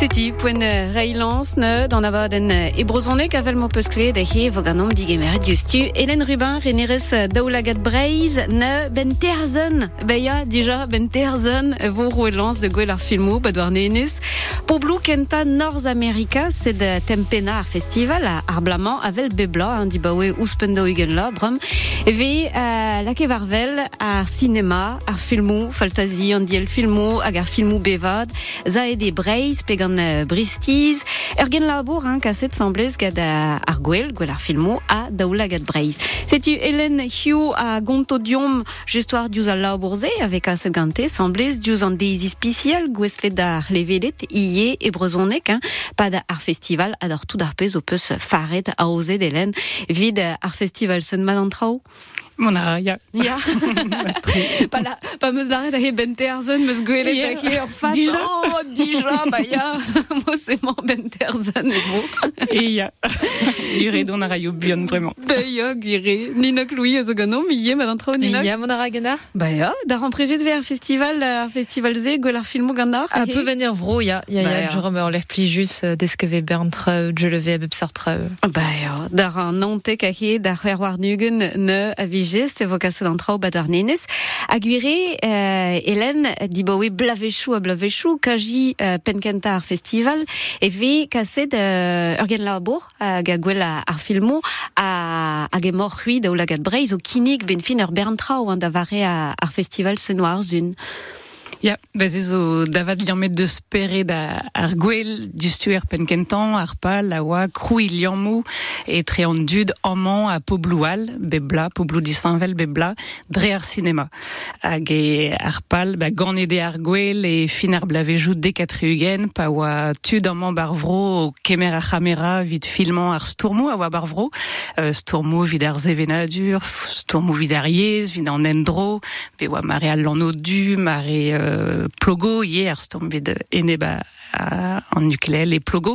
Titi, point Reilance, ne, dans la den ebrozone, kavel mo peuskle, dahi, voganom, digemer, justu, Hélène Rubin, Reneres, daoulagat breiz, ne, ben terzen, beya, déjà, ben terzen, vos rouelans de Gwelar Filmou, badouar nenis, pour Blue Kenta North America, c'est de Tempena Festival, à Arblamant, avel bebla, di bawe uspendo ugenla, brum, ve, la kevarvel, à cinéma, à filmou, faltazi, andiel filmou, agar filmou bevad, zaede breiz, pegan bristiz, ergen labour, kasset semblez gad Arguel, Gwelar Filmou, a daoulagat breiz. C'est-tu Hélène Hugh à Gontodium, justoire dius al labourze, avec a gante, semblez dius an deizi spécial, gweslet d'ar levelet, iye e brezonek, pas d'ar festival, ador tout d'ar pez, opus faret, a osé d'Hélène, vid ar festival sen madantrao. Mona, ja. Ja. Pas meus laret a ben terzen, meus gwelet dake en face. Déjà. Oh, déjà, bah ja. Moi, c'est mon ben terzen, et bon. Et ja. Gure don ara yo bion, vraiment. Bah ja, gure. Nina Clouy, eus o gano, miye, madantrao, Nina. Ja, mon aragana. Bah ja, d'ar emprejet ver festival Z, Gwelar Filmou gandar. Un peu venir vro, ja. Je remets l'air pli juste, desque ve berntre, je le vais absortre. Bah ja, d'ar an nantek ahe, d'ar war nugen, ne, avige, c'est vocasse d'entrao badar nenes. Aguirre, Hélène, di bawe blavechou, kaji penkenta ar festival, e ve kaset urgen labour, ga gwell ar filmou, a gemor hui daoulagat breiz, o kinig ben fin ur berntrao, da vare ar festival senoir zun. Ja, ez o davad liamet deus peret ar gwell dustuer penkentan, ar pal, a oa, kroui liamou, et tre an dud amman a pobloual, bebla, poblou di Saint-Vel, bebla, dre ar cinéma. Hag e ar pal, ganede ar gwell e fin ar blavejou dekatri-ugen, pa oa tud amman bar vro, o kemer ar chamera, vid filman ar stourmou, a oa bar vro, stourmou vid ar zevenadur, stourmou vid ar yez, vid an endro, be oa mare al lano du, mare plogo hier stombed eneba en ukulele et plogo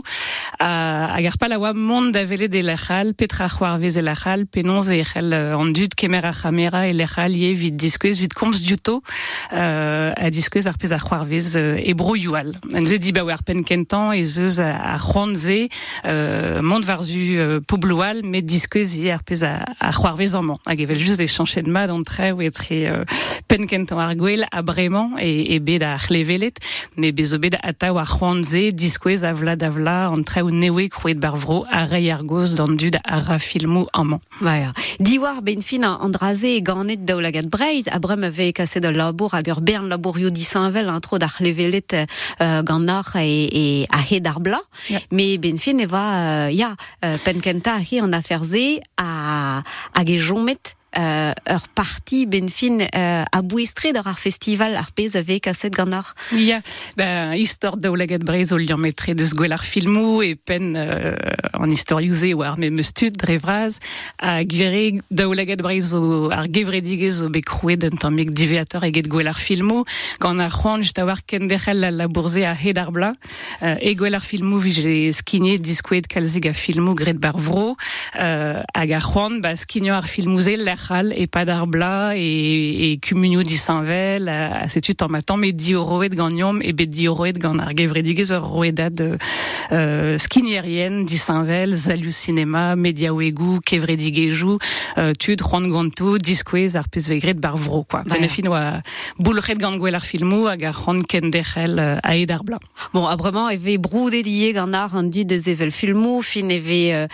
agar pal a oa mont da vele de lechal petra c'hoarvez e lechal penonz e echel an dud kemer a chamera e lechal ye vid diskwez vid komz diouto a diskwez ar pez a c'hoarvez e broioal an ze di ba war pen kentan e zeus a c'hoanze mont varzu pobloual met diskwez ye ar pez a c'hoarvez amman hag evel just e chanchet mad an tre ou etre pen kentan ar gwell a bremañ e bet a c'hlevelet me bezo bet ata war c'hoanze diskwez avla an tre ou newe krouet bar vro a rei ar goz d'an dud a ra filmou amman. Ja. Diwar ben fin an draze ganet daoulagat breiz, a brem ve kaset da labour hag ur bern labourioù di Saint-Vel, tro d'ar c'hlevelet gant e a he d'ar bla, me ben fin eva, penkenta a he an afer ze hag e jomet ur parti ben fin a bouestre d'ar festival ar pez ave kaset gant Ja, histoire daoulagat breiz o liametre deus Gwelar Filmou e pen an historiouze war me meustud dre vraz a gure daoulagat breiz ar gevredigez o bekrouet d'un tammik diveator eget Gwelar Filmou gant ar c'hoant just a war ken derc'hel la bourze a he d'ar bla e Gwelar Filmou vije skignet diskouet kalzig a filmou gret bar vro hag ar c'hoant skigno ar filmouze lechal e pa d'ar bla e kumunio di Saint-Vel a setut an matan me di oroet gant e bet di oroet gant ar gevredigez ur roedad skinierien di Saint-Vel, Zaliou Cinéma, Mediaouegou, kevredigezhou, tud c'hoant ganto, diskwez ar pez vegret bar vro, quoi. Benefin oa boulret gant Gwelar Filmou hag ar c'hoant ken derc'hel a ed ar bla. Bon, abremañ eve broudet lié gant ar an dud de zevel filmou, fin eve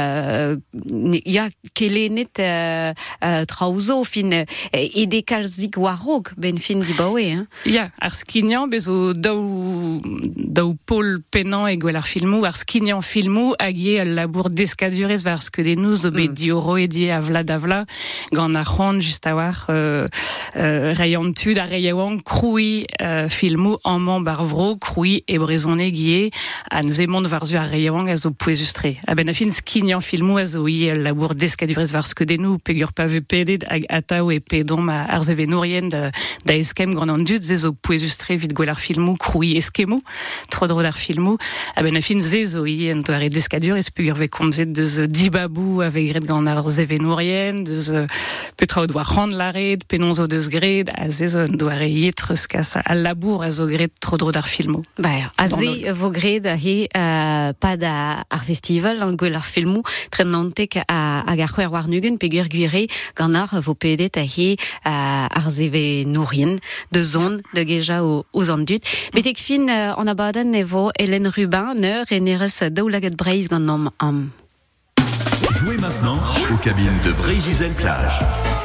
kelenet traouzo, fin ede kalzik warrok, ben fin di bawe, hein. Ja, ar skignan bezo daou Paul Penan e Gwelar Filmou, ar skignan filmou hag ye al labour deskadurez var skedennoù zo bet di oro e di avla davla gant ar c'hoant just a war reiantud a reiaouan kroui filmou amman bar vro, kroui e brezoneg ye a neus emont varzu a reiaouan a zo pouezustre. A ben a fin skignan filmou a zo ye al labour deskadurez var skedennoù pegur pave pedet hag atao e pedom ar zevenourien da eskem gant an dud, zezo poezustre vid gwell ar filmou, kroui eskemo, trodro d'ar filmou, a ben a fin zezo en doare deskadur, espugur ve komzet deus dibabou ave gred gant ar zevenourien, deus petra o doa rand lared, penonzo deus gred, a zezo en doare yetreus kas a labour a zo gred trodro d'ar filmou. A ze vo gred a he pad ar festival, an gwell ar filmou, tren nantek a ar c'hwer war nugen, pegur guire gant ar vo pedet a he ar zevenourien, de zon, de geja o an dud. Betek fin an abadenn e vo Hélène Rubin, renerez daoulaget Breizh gant nom am. Jouez maintenant aux cabines de Breizh Plage.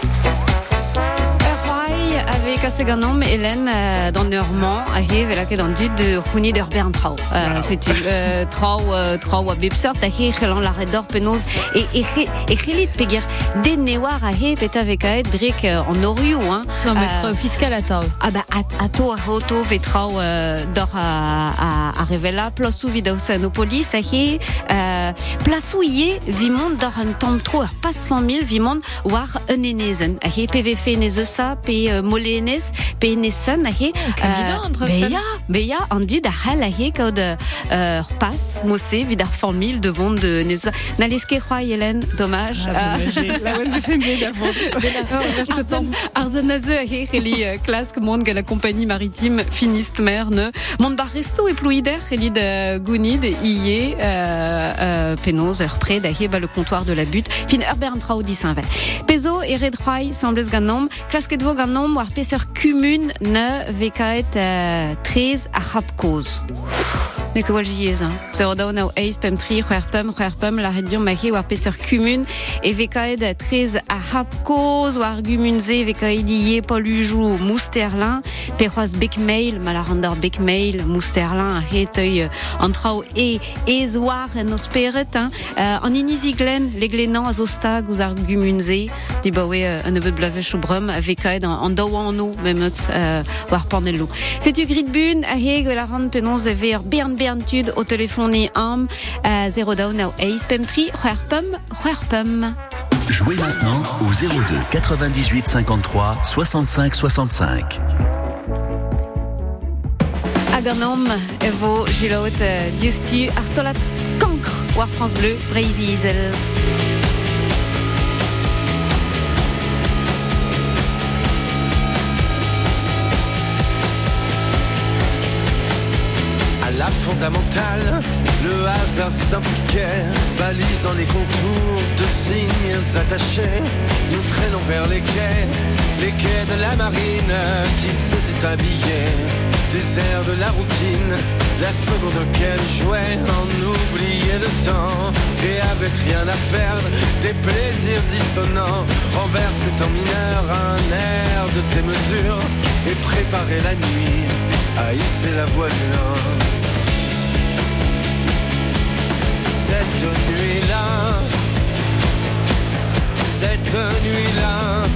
Avec Kaseganom, Hélène, dans Normand, arrive là que dans du de Rouni d'Urbain Trau. C'est Trau à Bipsort, à Hélan la Redor Penos et Hélit Pegir, des Néoirs à Hé, Peta avec Aed, Drake en Oriou, hein. Non, maître fiscal à Tau. Ah bah, à Roto, Vetrau, d'or à Revela, Plasou Vidaussanopolis, à Hé, Plasou Yé, Vimond, d'or un tombe trop, passe 100 000, Vimond, war un Enezen, à Hé, PVF Nezosa, P. Molenes, Penesan, ahe. Beya, andi da hal ahe kaud pass, mosse, vidar 100 000 de vente de Nezosa. Naleske roi Hélène, dommage. La welle de fembe d'avant. Arzenaze ahe, reli classe, monde la compagnie maritime finiste merne. Monde bar resto et pluider, reli de Gounid, Iye, Penos, près d'ahe, le comptoir de la butte. Fin Herbert Trau Saint-Val. Pezo et Red Roy, sembles ganom, classe que de vos ganom, war peseur kumun ne vekaet 13 a rapkoz. Mais que wal jiez, hein. Zero daou nao eis pem tri, c'hwerpem, la redion mahe war peseur kumun, e vekaet 13 a rapkoz, war gumunze vekaet ie Paul Ujou, Mousterlin, perroaz bekmail, malarandar bekmail, Mousterlin, a reteuil antrao e zoar en osperet, hein. En iniziglen, les glenans a zostag, ouz ar gumunze, di bawe un nebeud blavech ou brum, vekaet en daouan no, memeus war panello. C'est-tu gridbun, a he, la rand penons ver Berntud au téléphone am 0 down now ace pem tri c'hwerpem. Jouez maintenant au 02 98 53 65 65. Aganom evo gilot diustu arstolat cancre war France Bleu Breizh. La fondamentale, le hasard s'impliquait, balisant les contours de signes attachés. Nous traînons vers les quais de la marine qui s'était habillée. Désert de la routine, la seconde auquel jouait en oublier le temps. Et avec rien à perdre, des plaisirs dissonants, renverser en mineur un air de démesure et préparer la nuit à hisser la voilure. Cette nuit-là, cette nuit-là,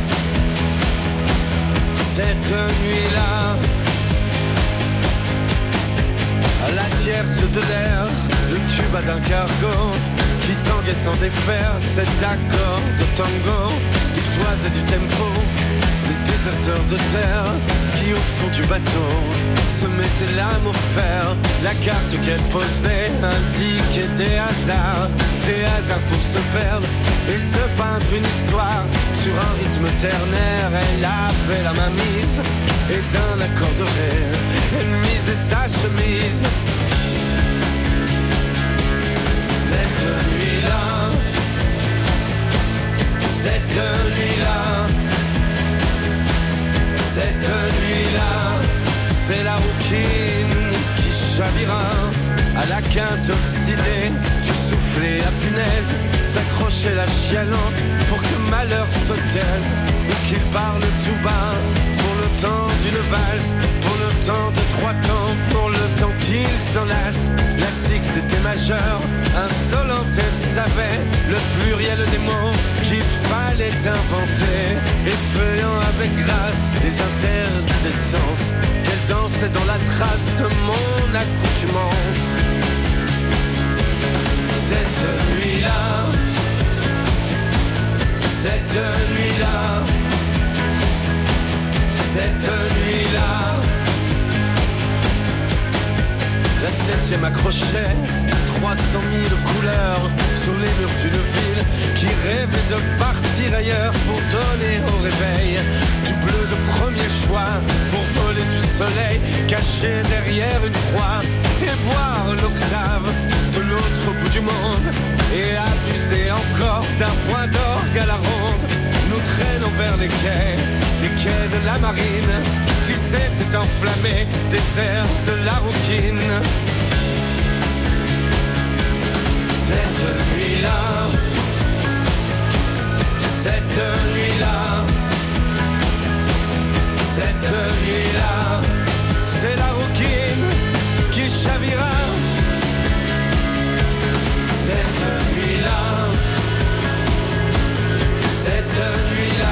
cette nuit-là, à la tierce de l'air, le tuba d'un cargo qui tanguait sans défaire cet accord de tango. Il toisait du tempo, les déserteurs de terre qui au fond du bateau se mettaient l'âme au fer. La carte qu'elle posait indiquait des hasards pour se perdre et se peindre une histoire sur un rythme ternaire. Elle avait la main mise et d'un accord de ré, elle misait sa chemise. Cette nuit-là, cette nuit-là, cette nuit-là, c'est la rouquine qui chavira à la quinte oxydée du soufflet à punaise, s'accrochait la chialante pour que malheur se taise, ou qu'il parle tout bas pour le temps d'une valse, pour le temps de 3 temps, pour le temps qu'il s'enlace. La sixte était majeure, insolente, elle savait le pluriel des mots qu'il fallait inventer, effeuillant avec grâce les interdits des sens, qu'elle dansait dans la trace de mon accoutumance. Cette nuit-là, Cette nuit-là, cette nuit-là, la 7e accrochait 300 000 couleurs sur les murs d'une ville qui rêvait de partir ailleurs pour donner au réveil du bleu de premier choix, pour voler du soleil caché derrière une croix et boire l'octave de l'autre bout du monde et abuser encore d'un point d'orgue à la ronde. Nous traînons vers les quais de la marine qui s'était enflammé, désert de la rouquine. Cette nuit-là, cette nuit-là, cette nuit-là, c'est la rouquine qui chavira. Cette nuit-là, cette nuit-là,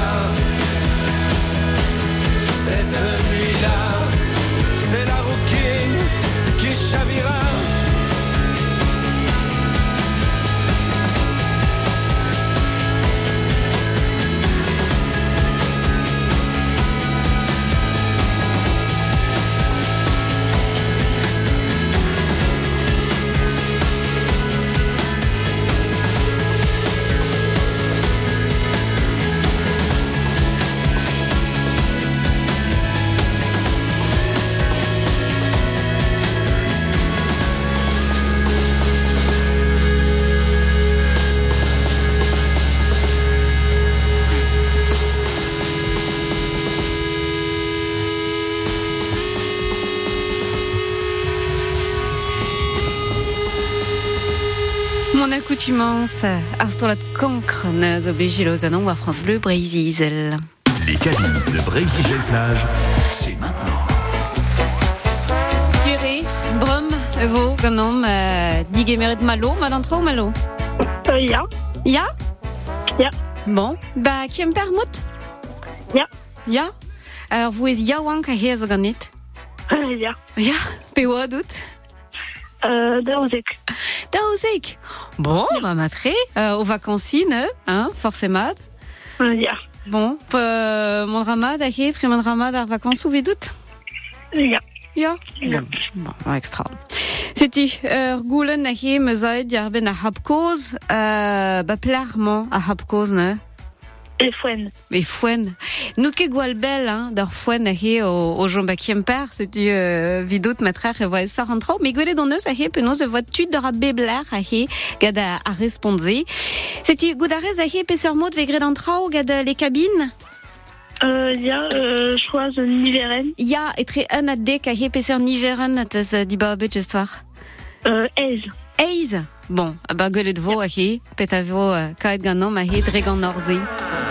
cette nuit-là, c'est la rouquine qui chavira. Mon accoutumance, Arstolat Cancre, Obégilo Ganon ou à France Bleu, Brésil. Les cabines de Brésil Plage, c'est maintenant. Guéry, Brum, Evo, Ganon, Diguemeret Malo, Madantra ou Malo? Ja. Ja? Ja. Bon, bah, qui aime permout? Ja. Ja? Alors, vous êtes Yawank à Hezaganit? Ja. Ja, Pewa dout? Daouzek. Daouzek. Bon, bah, matré, aux vacances, hein, forcément. Ja. Bon, mon ramad, à Hed, mon ramad, à vacances, ou vidout? Ja. Ja. Bon, extra. C'était, Goulen, à Hed, Mezaid, Yarben, à Hapkoz, bah, plarement, à Hapkoz, ne? Et Fouenne. Et Fouenne. Nous que Gualbel, hein, d'or Fouenne, au Jean Bakiemper, c'était, vidot de matraire, et voilà, ça rentre, mais Guelé dans nous, penos, voiture de rabébler, gada, à respondre. C'était, Goudarez, pessermot, vegre d'entrao, gada, les cabines? Ja, choix Niveren. Ja, et très un adé, pesser Niveren, t'as dit bah, soir. Eiz. Eiz. Bon, bah, gueule de veau, petavo, kaet ganom, dregan norzi.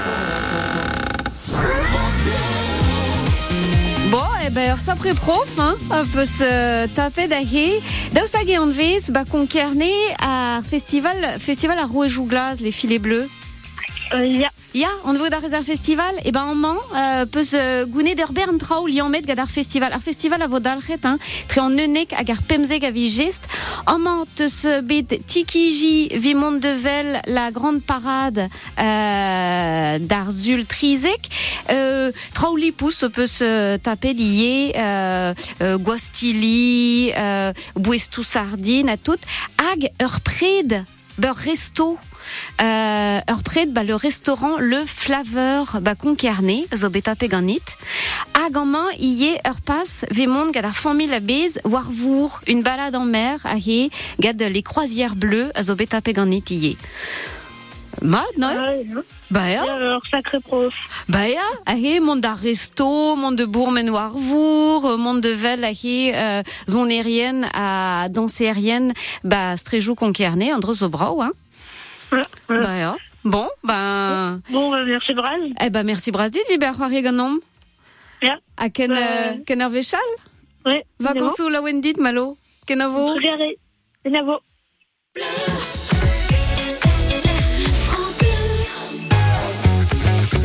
Bon, et ben, ça pré-prof, hein, on peut se taper d'ahé. D'austage en vis, bah, concerné à festival à Rouet-Jouglas, les filets bleus. Ja. Ja, on veut d'un réserve festival, et ben, en man, peut se gouner d'Herbern Trau, Liamet, gadar festival. Ar festival à Vodalchet, hein, très en nenek, agar pemzeg à vigiste. En man, te se bed Tikiji, Vimond de Vel, la grande parade, d'Arzul Trizek. Trauli pousse peut se taper lié, Guastili, Bouestou Sardine, à tout. Ag, Heurpred, Beur Resto. Heurpred, bah, le restaurant Le Flaveur, bah, concarné, zobeta peganit. Agaman, y est Heurpass, Vemond, gada famille la bise, Warvour, une balade en mer, ahé, gade les croisières bleues, zobeta peganit, y est. Mad, non? Bah, ya. Alors, sacré prof. Bah, ya. Ahé, monde à resto, monde de Bourmen Warvour, monde de Vel, ahé, zone aérienne, à danse aérienne, bah, stréjou concarné, Andros Zobrao, hein. Bah, ja. Bon, ben. Bon, merci Braz. Eh ben, merci Braz dit, vi ber c'hoari ganom. Ja. A ken ar vechal? Ouais. Vakansoù la wendit, malo. Ken a vo? Regardez. Ken a vo.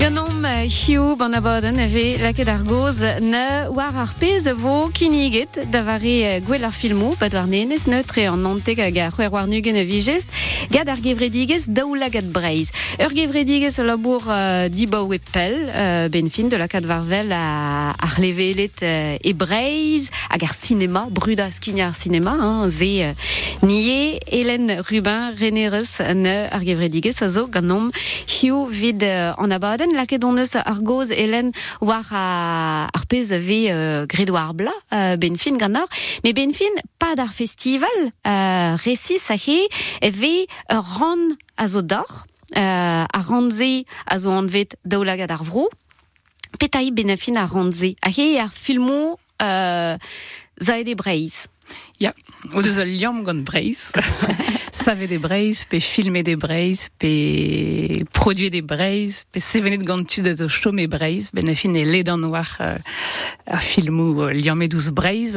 Ganom hiu banabaden eve laket ar goz ne war ar pez vo kiniget davari gwell ar filmou bad war nenez neutre an nantek hag ar c'hwer war nugen e vigest gad ar gevredigez daoula gad breiz. Ur gevredigez a labour dibaou e pel ben fin de lakat varvel ar levelet e breiz hag ar cinema bruda skigne ar cinema ze nie Hélène Rubin renereus ne ar gevredigez a zo ganom hiu vid an abaden laket on eus ar goz Hélène war ar pez ave gredoar bla ben fin gannor, mais ben fin pas d'ar festival resis a he eve ran a zo dor a ranze a zo anvet daoulagad ar vro petai ben fin a ranze a he ar filmo zaed e breiz. Ja, o deus al liam gant breiz. Save des breiz, pe filmer des breiz, pe produire des breiz, pe sevenet gant tud a zo chome breiz, ben a fin e ledan war a filmou liamet ouz breiz.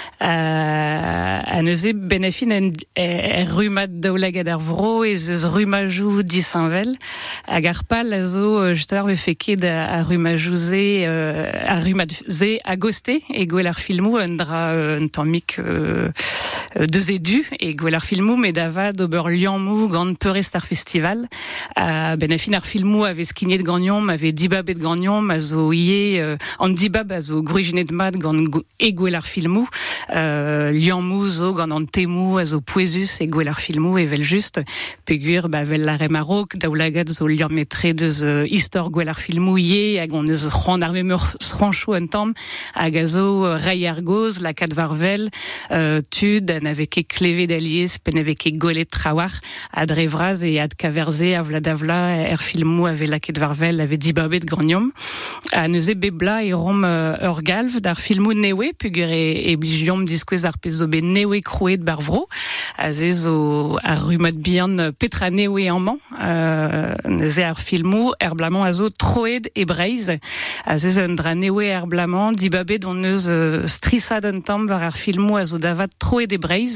A neuze ben a fin rumad daoulagad ar vro ez eus rumajou disanvel. Hag ar pal a zo just ar feket a rumajou ze, a rumad ze a goste, e gwell ar filmou un dra un tammik deus edu e gwell ar filmou met avad ober liammou gant peurest ar festival. Ben a fin ar filmou ave skignet gagnon, ave dibabet gagnon, a zo ie an dibab a zo gruijenet mat gant e gwell ar filmou. Liammou zo gant an temou a zo poezus e gwell ar filmou e vel just pegur vel la remarok daoulagad zo liammetre deus istor gwell ar filmou ie hag on eus c'hoant ar memeur sranchou un tamm hag a zo rai ar goz lakat varvel tud n'avait ket klevet d'aliez pen n'avait ket golet trawar ad revraz et ad kaverze a vladavla er filmou ave laket varvel ave dibabet granium a neuze bebla e rom ur galv d'ar filmou newe pugur e bligiom diskouez ar pezobe newe krouet bar vro a ze zo ar rumad bihan petra newe amman neuze ar filmou erblamant a zo troed e breiz a ze un dra newe erblamant dibabet on eus strissad un tamm var ar filmou a zo davad troed e breiz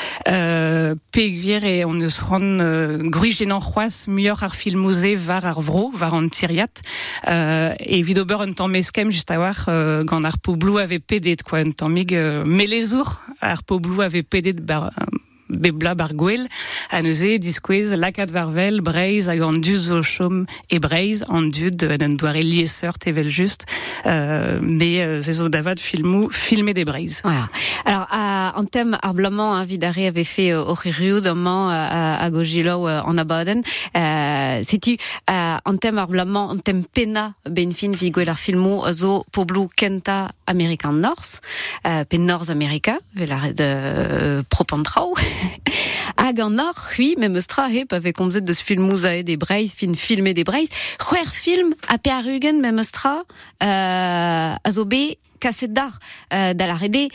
peguer e on eus ran gruijenan c'hoaz muioc'h ar filmouze var ar vro, var an tiriat e vid ober un tamm meskem just a war gant ar poblou ave pedet quoi, un tammig melezour ar poblou ave pedet bebla bar gwell a neuze diskouez lakat varvel breiz hag an duz o chom e breiz an dud an doare liesseurt evel just mais ze zo davad filmer des breiz. Voilà. Alors en thème arblamant vidare avait fait au Riu d'amant à Gogilo en abaden c'est-tu en thème arblamant en thème pena benfin vigouel ar filmo zo poblu kenta American North pen North America velar de propantrao hag an or, oui, même stra hep avec komzet deus filmou zaed e breiz, filmer des breiz. C'hwer film a pe ar ugen même stra a zo be kaset dar da la rede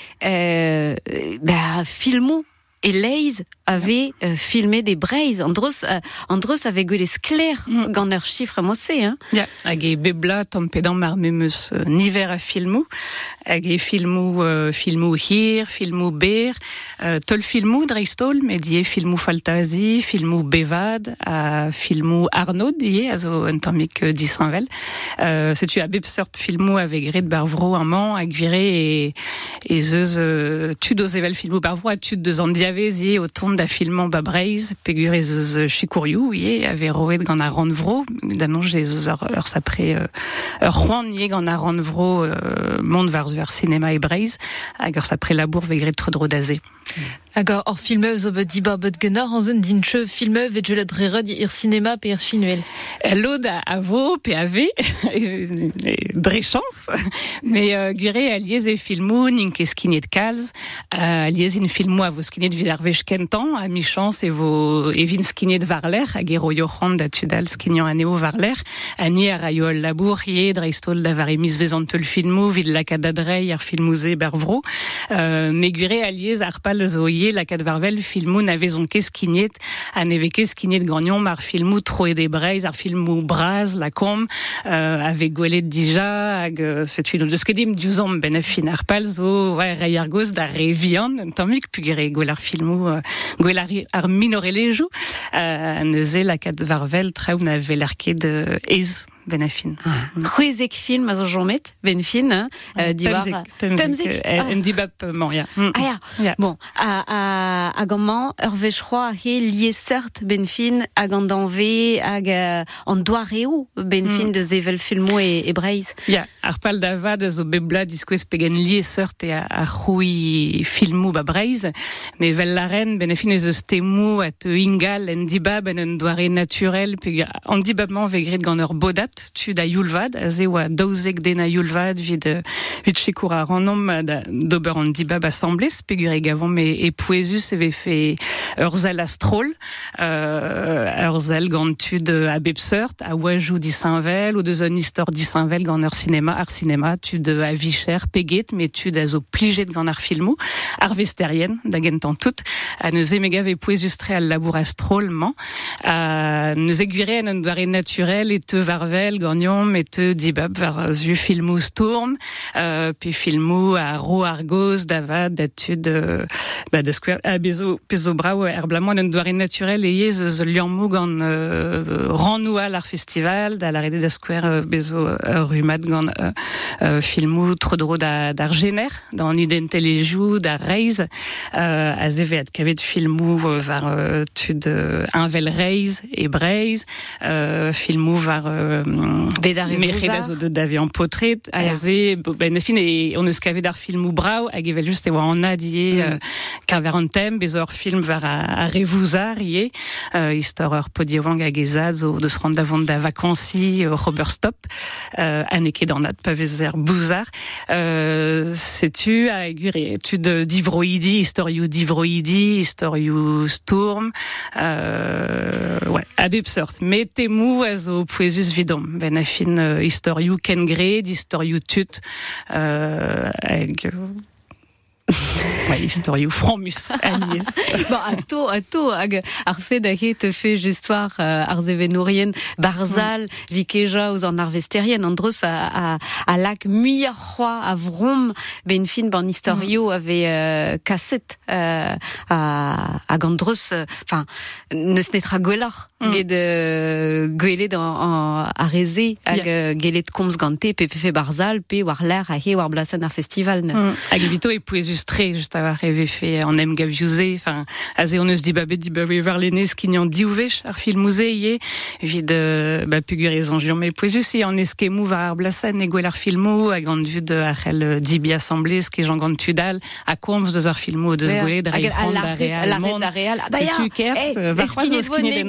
filmou et leiz avait filmé des breiz. Andros avait gueulé sclair gant ur chiffre mossé, hein. Ja, hag e bebla tampedam mar memeus niver a filmou, hag e filmou hir, filmou ber, tol filmou dreistol, met die filmou faltazi, filmou bevad, filmou Arnaud, a zo un tammik disanvel. Setu a bep sort filmou ave gret bar vro amman, hag vire e zeus tud oz evel filmou bar vro, a tud deus an diavez o tont da filmant ba breiz, pegur ez eus chikourioù, ave roet gant ar ran vro, d'annonj ez eus ur sapre ur c'hoant gant ar ran vro mont var cinema e breiz, hag ur sapre labour vegret tro daze. Hag or filmeu zo bet dibabet genor an zun dinche filmeu vet je lat rered ir cinema pe ir finuel. Lod a vo pe ave dre chans, mais gure a liez e filmou n'ink e skinet kalz, a liez in filmou a vo skinet vid ar vech kentan, a mi chans e vin skinet var l'er, hag e roio c'hant da tudal skignan aneo var l'er, a ni a raio al labour dreistol da var e mis vezan teul filmou vid lakat adrei ar filmouze ber vro, me gure a liez ar pal zo lakat varvel filmou na vezon ket skignet, a neve ket skignet gagnon mar filmou troe de breiz, ar filmou braz, la kom, avec gwelet dija, hag setu no deus ket dim diouzom ben a fin ar pal zo, rei ar goz da re vihan, un tammik pugere gwell ar filmou, gwell ar minorelejou, neuze lakat varvel traoù na veler ket ez ben fin. Ruizek film a zo jomet, ben fin, diwar. Temzek. En dibab, bon, ya. Ya. Bon, a gomman, ur vechroa he liesert ben fin, hag an danve, hag an doareo ben fin de zevel filmo e breiz. Ya, ar pal davad zo bebla diskouez pegen liesert e a c'houi filmou ba breiz, me vel la reine ben fin ez eus temou at ingal en dibab en un doare naturel, pe an dibabman vegrit gant ur bodat, tud a youlvad, a ze oa daouzek den a youlvad vid chekour a rannom d'ober an dibab assemblez, pe gure gavon e pouezus eve fe ur zel astrol, ur zel gant tud a bepseurt, a oajou disainvel, ou deus un istor disainvel gant ur cinema, tud a vicher peget, me tud a zo plijet gant ar filmou, ar vesterien, da gentan tout, a neus emega ve pouezus tre al labour astrolman, a neus eguire en un doare naturel et te varvel gagnon et te dibab var zu filmou stourm, pe filmou a ro argoz davad d'atud da square a bezo brao erblamon un doare naturel et yez ze liamou gant ranoual ar festival da la rede da square bezo rumad gant filmou trodro d'ar gener dans identelejou da reiz a zevet kavet filmou var tud invel reiz et breiz filmou var merchez de d'avion potret a ze ben fin et on eus kavet ar filmou brao hag evel just e oa an adie kaver an tem bezor film var a revouzar ie istor ur podievang hag ezad zo deus rand davant da vakansi Robert Stop aneke d'anat pa vezer bouzar setu a gure tud divroidi istorioù stourm ouais a bepseurt met temou a zo pouezus vidom ben a fin istorioù kengred istorioù tut hag ouais, istorioù framus Agnès. Bon, a to hag ar fe da he te fe justwar ar zevenourien barzal vikeja ouz an ar vesterien an dreus a lak muier c'hoa a vrom ben fin ban istorioù ave kaset hag an dreus enfin neus netra gwelar ged gwelet a reze hag gelet komz gante pe fe barzal pe war l'air a he war blasen ar festival hag evito e pouezus tre just avoir rêvé fait en aime gaviouzé enfin azé on eus dibabé var l'enez kinyan diouvech ar filmouze ie vid pugurez an mais pouezus e an eskemou var ar blasen e gwell ar filmou hag an dud arrel dibi assemblez ke Jean Gantudal a komz deus ar filmou deus gwelet da refond da real mond setu kers var c'hoaz eus kinet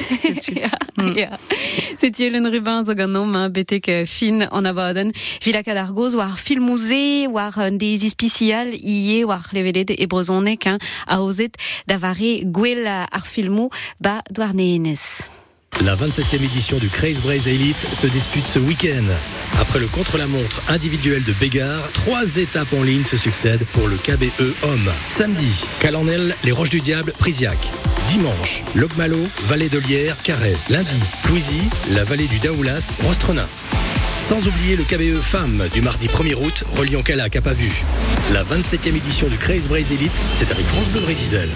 den setu Hélène Rubin zo ganom betek fin an abaden vilakad ar goz war filmouze war des ispicial ie war levelet e brozonek a ozet davare gwell ar filmou ba douarneenez. La 27e édition du Craze Braze Elite se dispute ce week-end. Après le contre-la-montre individuel de Bégard, 3 étapes en ligne se succèdent pour le KBE Homme. Samedi, Calanel, les Roches du Diable, Prisiac. Dimanche, Locmalo, Vallée de Lierre, Carhaix. Lundi, Plouisy, la vallée du Daoulas, Rostrenin. Sans oublier le KBE Femmes du mardi 1er août, reliant Calac à Pavu. La 27e édition du Craze Braze Elite, c'est avec France Bleu Brésil.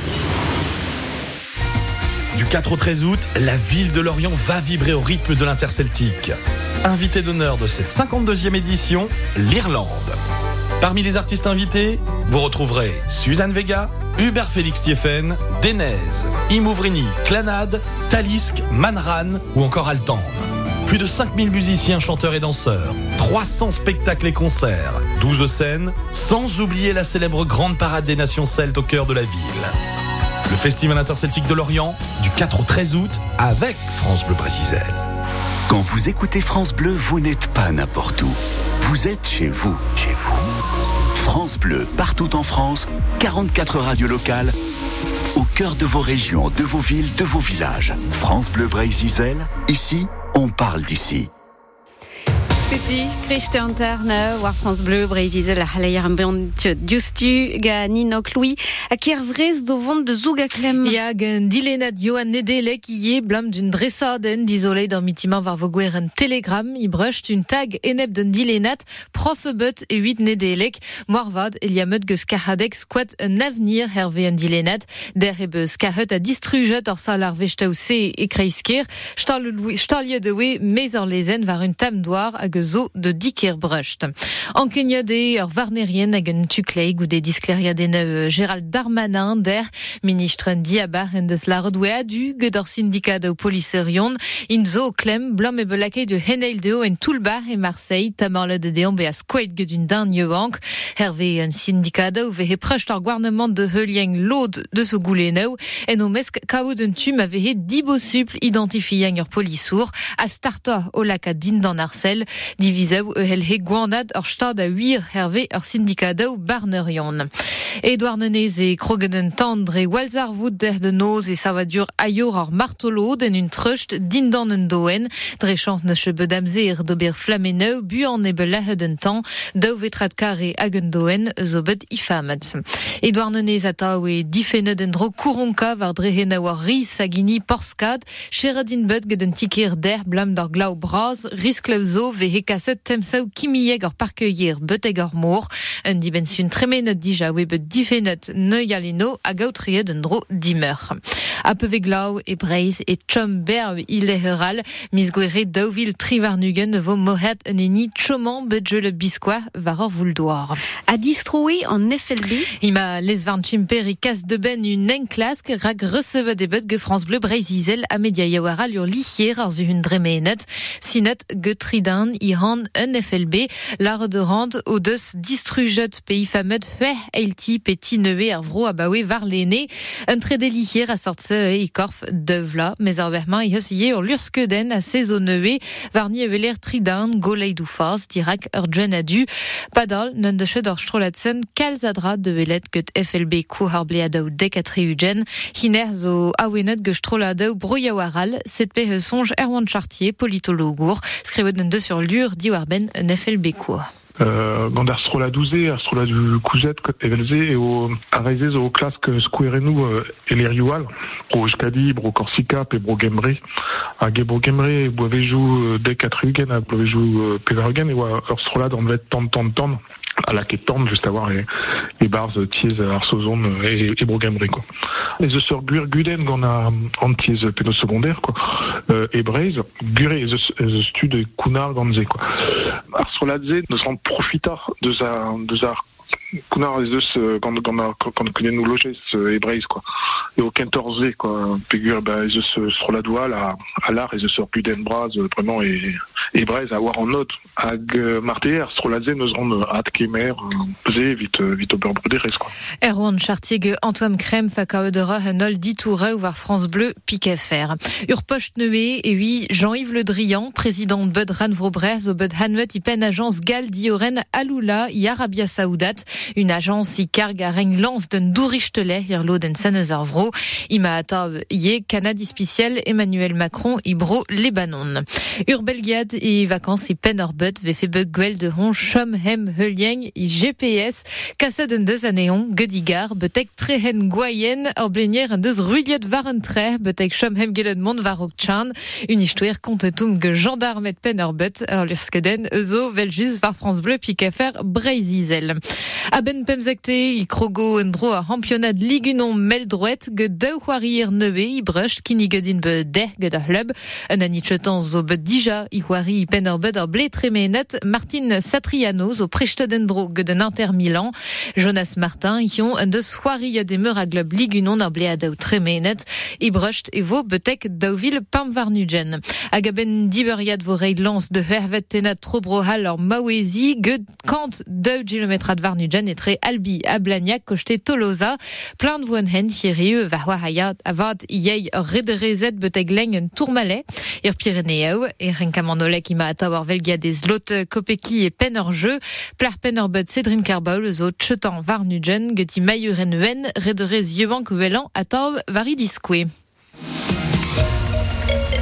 Du 4 au 13 août, la ville de Lorient va vibrer au rythme de l'Interceltique. Invité d'honneur de cette 52e édition, l'Irlande. Parmi les artistes invités, vous retrouverez Suzanne Vega, Hubert Félix Thieffen, Denez, Imouvrini, Clanade, Talisk, Manran ou encore Altan. Plus de 5000 musiciens, chanteurs et danseurs, 300 spectacles et concerts, 12 scènes, sans oublier la célèbre grande parade des nations celtes au cœur de la ville. Le Festival interceltique de Lorient, du 4 au 13 août, avec France Bleu Brésil. Quand vous écoutez France Bleu, vous n'êtes pas n'importe où. Vous êtes chez vous. Chez vous. France Bleu, partout en France, 44 radios locales, au cœur de vos régions, de vos villes, de vos villages. France Bleu Brésil, ici, on parle d'ici. C'était Christian Terne, War France Bleu, Brésil, la Halayar Ambient, Justu, Nino Louis, à Kervrez, au vent de Zougaklem. Ja, gen dilenat Johan Nedelek, qui est blâme d'une dressaden, d'isolé dans mitima var voguer un télégramme, i brusht une tag eneb d'un dilenat, prof but et 8 Nedelek, moarvad, eliamet ge skahadek squat un avenir, hervé un dilenat, der ebe skahet a distrujet or salar vechtaou se e kreisker, stalje de we, mezor lezen var un tam doar a zo de diker brusht. En Kenya de varnerien hag un tukleig ou des disclériadeneu Gérald Darmanin der ministre Diabar en deus la redoué adu gedor syndicat de polisserion in zo klem blam e belakei de Heneil deo en Toulbar et Marseille tamarle de deon be a squaid gedun dan bank hervé un syndicat de vehe prest ar gouvernement de helieng l'ode de so gouleneu en o mesk kao d'un tum avehe dibo supl identifiant ur polissour a starta o laka din dan Arcel diviseu helhe gouanad ur stad a 8 hervé ur syndicat de barnerion. Edouard Nenez et Krogenen tendre et Walzar Wood der de noz et savadur ayor ar martolo den un trust din dan un doen dre chance ne chebe damzer d'ober flameneu buan e belahed un temps dau vetrat kare hag un doen zobet ifamet. Edouard Nenez atao e difenet un dro kouronka var dre henau ar ris agini porskad cheradin bet ged un tiker der blam d'ar glau braz riskleu zo vehe kaset temsau kimieg ar parkeuier beteg ar mor un dibensun tremenet dija we bet difenet neuialino a gautrie d'un dro dimeur. A Peveglau et Breiz et Chomberg il est heral misguere dauvil trivarnugen vo mohet neni choman bedje le bisquois varor vouldoir. A distroé en FLB. Ima lesvarn chimper i kas de ben une enklask rag recebe de bet ge France Bleu Breizizel a media yawaral ur lichier ar zuhun dremenet sinet ge tridan i han un FLB l'ar de rand o deus distrujet pays famet hue eilti petit neue ar vro abawe var lene un trait lichier a sortse i korf devla mais ar verman i heusier ur lurskeden a sezonneue varni eveler tridan goleidou faz dirak ur djen adu padal non de ched ur strolatsen kalzadra de velet get FLB kou har bleadau dekatri ugen hiner zo awenet ge stroladau broyawaral set pe songe Erwan Chartier politologour skrivet den de sur lur diwarben un FLB kou. Gant ar strola douze, ar strola du kouzet evelze eo arreze zo o klask skouerenou elerioual bro Euskadi, bro Korsika pe bro Gemre hag e bro Gemre boavejou dek atrugen a boavejou pevarugen eo ar strola d'an vet tan à la quête tente juste avoir les bars tiez arsozon et brogamri quoi. Les sœurs gurguden qu'on a en tiez péno secondaire quoi. Et Breiz guré les stud kunar ganze quoi. Arsoladze nous en profita de sa kunar les deux quand connaît nous loger et Breiz quoi. Et au 14 quoi. Figure les sur la douale à l'art et les sœurs guden bras vraiment et Breiz à voir en note hag martier Stroladze nous rend at kemer pesé vite au beurre brûlé quoi. Erwan Chartier ge Antoine Crème fakao de ra un ol ditoure ou var France Bleu piquet fer. Urpocht Neué et oui Jean-Yves Le Drian président de Bud Ranvrobrez au Bud Hanwet ipen agence Gal Dioren Aloula i Arabia Saoudat une agence i karg a reng lance d'un dourichtele irlo den Sanezarvro ima ata ye Canadi spécial Emmanuel Macron ibro Lebanon. Urbelgiad et vacances i pen orbet ve fe bug gwell de hon chom hem helieng i GPS kaset en deus aneon gedigar betek trehen goyen or blenier en deus rudiet waren tre betek chom hem gelet mont varok chan une histoire contetum ge gendarmet pen orbet or lurskeden zo veljus var France Bleu pikefer Breizizel. A ben pemzekte i krogo en dro a championat ligunon meldroet ge deu c'hoarir neue i brush kini gedin be der ge da club un anitchetan zo be dija i c'hoari i pen orbet or ble tremenet Martin Satriano zo prechtedendro ge den Inter Milan Jonas Martin ion un deus c'hoari de meur a glob ligunon or ble a deu tremenet i brush e vo betek dauvil pamvarnugen hag a ben diberiad vo reid lance de hervet tenat trobrohal or mawezi ge kant 2 km ad varnugen et tre albi a Blagnac kochte Tolosa plein de voen hen thierry va hoahaya avad yei rederezet betek leng en tourmalet ir Pyrénéo et renkamandolek ima atawar velgia des lot kopeki et pen hors jeu plar pen hors bud Cédrine Carbol zo tchetan varnugen geti mayuren wen rederez yebank welan ataw varidisque.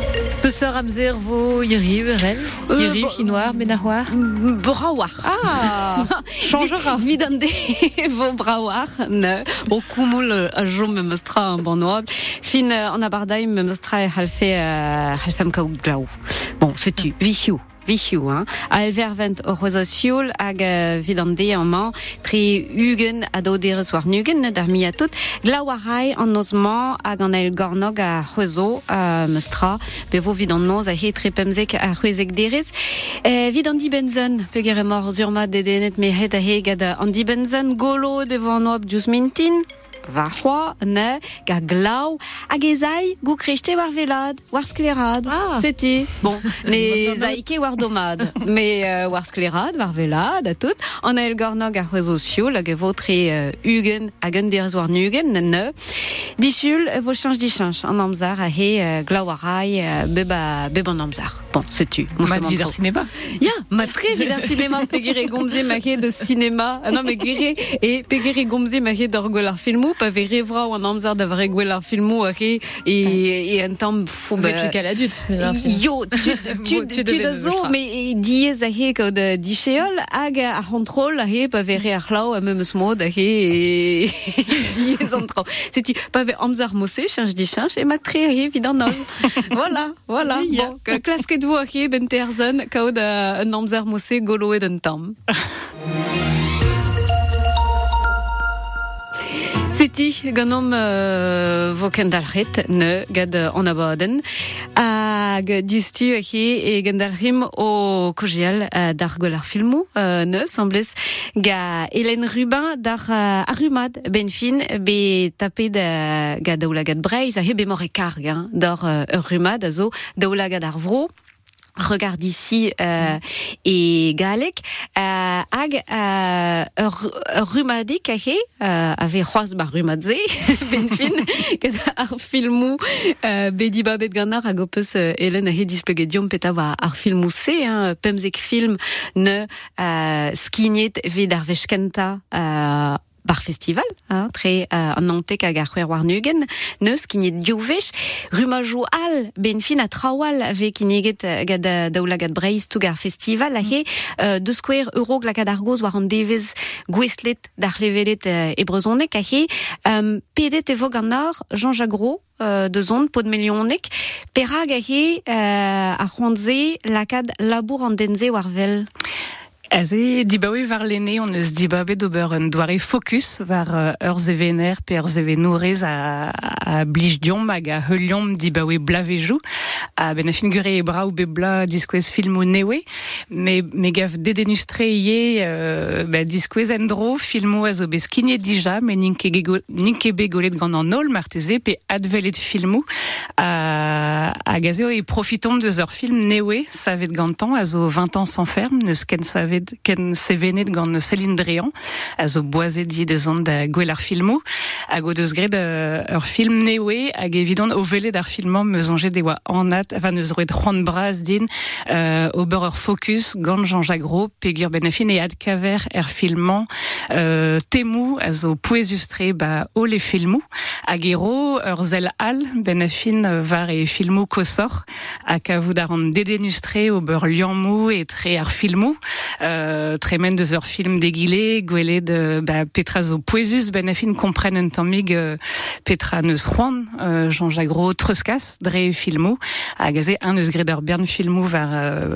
Pesseur Amzer vo Yeri Urel Yeri chinois Benahouar Brawar. Ah changera Vidande vo brawar ne au kumul a jom me mostra un bon noble fin en abardaim me mostra halfem ka glau. Bon, c'est-tu Vichou hein. A elvervent o rosasiol hag vidande en man tri ugen a doderes war nugen dar mi a tout glawarai en nosman hag an el gornog a rezo mestra bevo vidand noz a he trepemzek a huezek deres vidandi benzen pegere mor zurma dedenet me het a he gad andi benzen golo devant noab djus mintin Varroa, ne, ga glau, hag ezai, gou krechte war velad, war sklerad. Ah. C'est-tu? Bon, ne zaike war domad, mais war sklerad, war velad, a tout. On a el gornog a rezo siol, hag votre ugen, hag un derez war nugen, ne. Dichul, vo change, en amzar, a he glauarai, beba en amzar. Bon, c'est-tu? Mat vidar cinéma. Ya, mat tre vidar cinéma, pegere gomze ma he de cinéma. Non, mais gere, et pegere gomze ma he d'orgolar filmou, pa vere vra ou an amzar da vre gwelar filmou a he, et un temps, fou, tu qu'à l'adulte. Yo, tu de zo, mais diez a he kod dicheol, hag a contrôle a he, pa vere a chlau, a memes mod a he, et diez an trau. C'est-tu, pa vere amzar mosse, change, et mat tre a he vidar nol. Voilà. Bon, klasket vo a he, ben terzen, kaod un amzar mosse goloet un tam. Seti ganom vo kendalret ne gad an abaden hag dustu a he e gendalrim o kojial dar golar filmou ne semblez ga Hélène Rubin dar arumad ben fin be tapet ga daoulagad breiz a he be more karg dar rumad a zo daoulagad ar vro. Regarde ici et galek hag rumadik a he ave c'hoaz bar rumadze ben fin ket ar filmou bedi babet ganar hag opus Hélène a he displegedium peta va ar filmou se pemzek film ne skignet vid ar vechkenta bar festival, très an nantek hag ar c'hwer war nugen, neus kinnet diovech, rumajou al, ben fin a trawal ave kinneget gad daoulagad breiz toug ar festival, a he, deus skwer euro glakad ar goz war an devez gwestlet d'ar levelet e brezonek, a he, pedet evo ganar Jean-Jacques Gros, de zon pod milionek, perag a he, ar c'hoantze lakad labour an denze war vel. Aze dibaoe var lene on eus dibabe d'ober un doare focus var ur zevener pe ur zevenourez a blij diom hag a heuliom dibaoe blavejou a ben a fin gure e bra ou bebla diskwez filmou newe me gav dedenustre ye diskwez endro filmou a zo bez kinye dija me ninke begolet gant an ol marteze pe advelet filmou a gazeo e profitom deus ur film newe savet gantan a zo 20 ans sans ferme neus ken sevenet gant Céline Dréan a zo boazet di de zon da gwelar filmou hag o deus gret ur film newe hag evidon o velet ar filmam me zonjet de oa anat enfin neus roet c'hoant braz din ober ur focus gant Jean-Jacques Gros pegur ben a fin e adkaver er filmam temou a zo pouezustre o le filmou hag ero ur zel al ben a fin var e filmou kosor hag a vout ar an dedenustre ober liammou e tre ar filmou tremen deus ur film degile gwelet petra zo pouezus ben a fin kompren un tammig petra neus c'hoant Jean-Jacques Gros treuskas dre filmou hag a ze un eus gret ur bern filmou var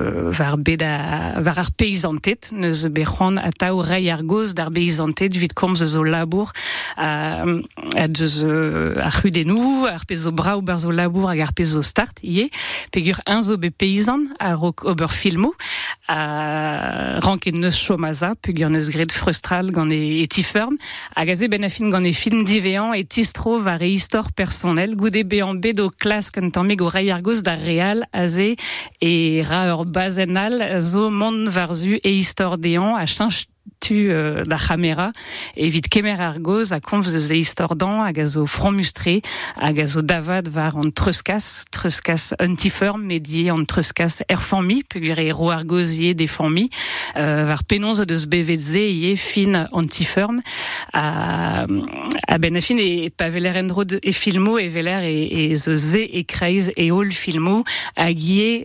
ar peizantet neus be c'hoant ataou rei ar goz d'ar peizantet vid komz zo labour a deus ar c'hudenou ar pez zo braou bar zo labour hag ar pez zo start ie pegur un zo be peizan ar ober filmou ranket neus chomaza pegur neus gret frustral gant e tifern hag a ze ben a fin gant e film divean e tistro var e histor personnel goude bean bedo klas kant tammig o rei ar goz d'ar real a ze e ra ur bazenal zo mont varzu e histor dean a chanj tu da Chamera et vite kemer argoz a konf de ze istordan hag a zo franmustré hag a zo davad var an treuskas antiferm medié an treuskas erformi pugure ro argozier des formi var penonz deus bevedze ie fin antiferm a benafin e paveler endro e filmo e veler e zo ze e kreiz e ol filmo hag ie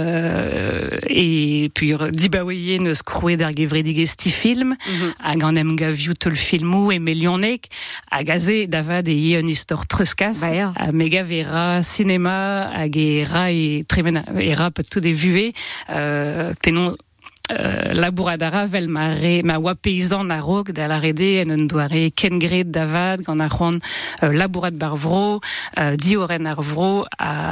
et puis dibaouie neus krouet d'ar gevredig esti film hag an em gaviou tol filmou e melionek hag a ze davad e ie un istor treuskas a mega vera cinéma hag e ra e trevena e ra peut tout de vué penon labouradara vel ma oa paysan na rog da la rede en un doare kengred davad gant a c'hoant labourad bar vro dioren ar vro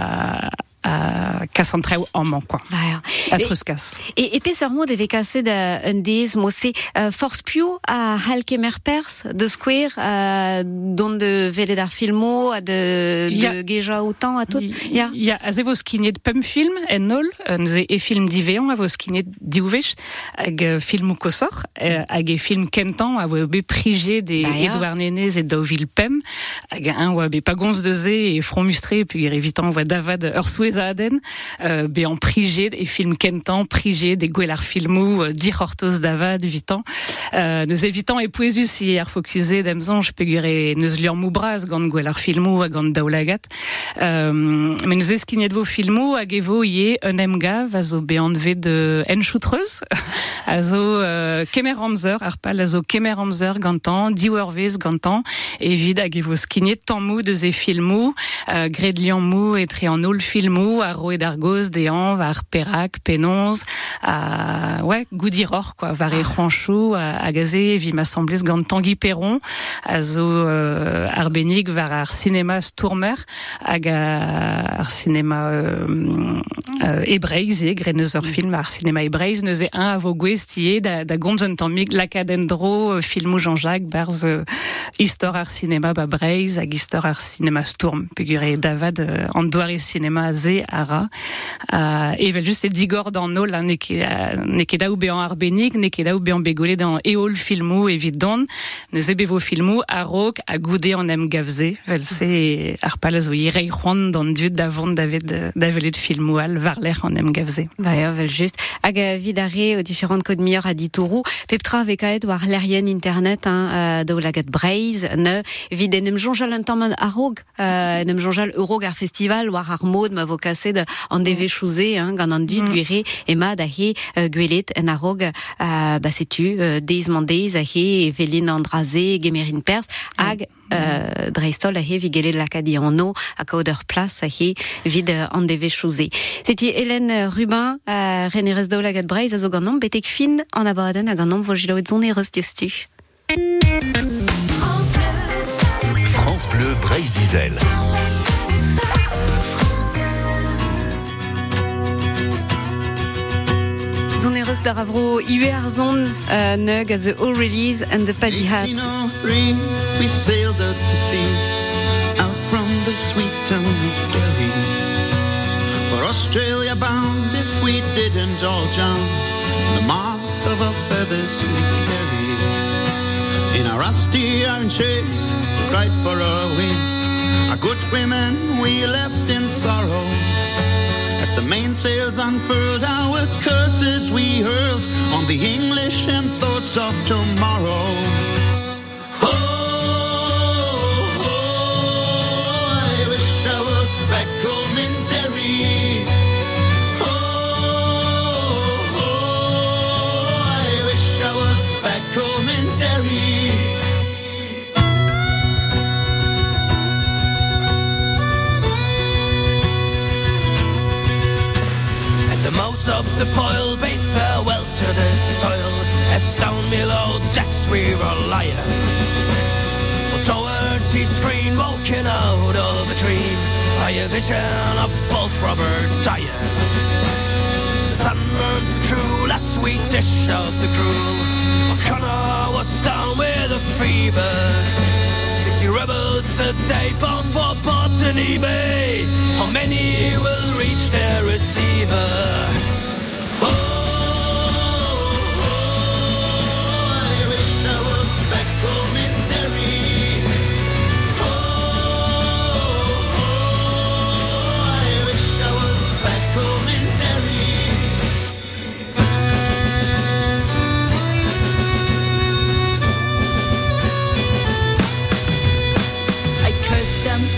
a kassantreu amman, quoi. A treuskas. Et peseur mod eve kaset un dez mosse force pio a halkemer pers de square don de velet ar filmo a de geja autant a tout. Ya a ze vos kinet pum film en ol ze e film diveon a vos kinet diouvech hag filmou kosor hag e film kentan a vo be prije de Edouard Nenez et Dauville Pem hag un oa be pagons de ze e front mustré puis evitant oa davad ur souez a aden be an prije e film kentan prije de gwelar filmou dir hortos davad evitant neus evitant e poezus si ar fokuset d'emzonj pegure neus lior mou braz gant gwelar filmou hag gant daoulagat men neus eskinet vo filmou hag evo ie un emgav a zo be an vet de enchoutreuz a zo kemer amzer ar pal a zo kemer amzer gantan diouervez gantan evit hag evo skinet tammou de ze filmou gred lian mou etre an ol filmou a roe d'argoz dean var perak penonz goudiror quoi var e c'hoanchou hag a ze vi m'assemblez gant Tanguy Perron a zo arbennig var ar cinéma Stourmer hag ar cinéma ebreiz gret neus ur film ar cinéma ebreiz neus e un a vo gwestier da gomz un tammig lakadendro filmou Jean-Jacques barz istor ar cinéma ba breiz hag istor ar cinéma Stourm pegure davad an doare cinéma ze ara evel just e digor d'an ol ne ket daou be an arbennig ne ket daou be an begole d'an eol filmou evit don neus ebe vo filmou a rok a goude an em gavze vel se ar pal a zo irei c'hoant d'an dud davant davelet filmou al varler an em gavze. Vel just hag vidare o diferent kod mior a ditourou peptra vekaet war l'erien internet daoulagat breiz ne vid en em jonjal un tamm a rog en em jonjal eurog ar festival war ar mod ma vo kaset an deve chouze gant an dud gwere e ma da he gwelet en a rog setu deiz mandeiz a he velin an draze gemerin pers hag dreistol a he vigele lakadi an no a kaoder plas a he vid an deve chouze. Seti Hélène Rubin renerez daoulagat breiz a zo gant nom betek fin an abaden a gant nom vo jiloet zon e reus diostu. France Bleu Breiz-Izel. Zon e reus da ravro iwe ar zon neug a the O-Release and the Paddy Hats. We sailed out to sea, out from the sweet town of Kerry. For Australia bound, if we didn't all drown, the marks of our feathers we carry. In our rusty iron shades, we cried for our wings. Our good women we left in sorrow. As the mainsails unfurled, our curses we hurled on the English and thoughts of tomorrow. I wish I was back home in Derry. I wish I was back home in Derry. At the mouth of the foil, bade farewell to the soil, as down below decks we were lying. Toward the screen, woken out of a dream by a vision of bold Robert dying. The sun burns through last sweet dish of the crew. O'Connor was down with a fever. 60 rebels a day bound for Botany Bay. How many will reach their receiver? I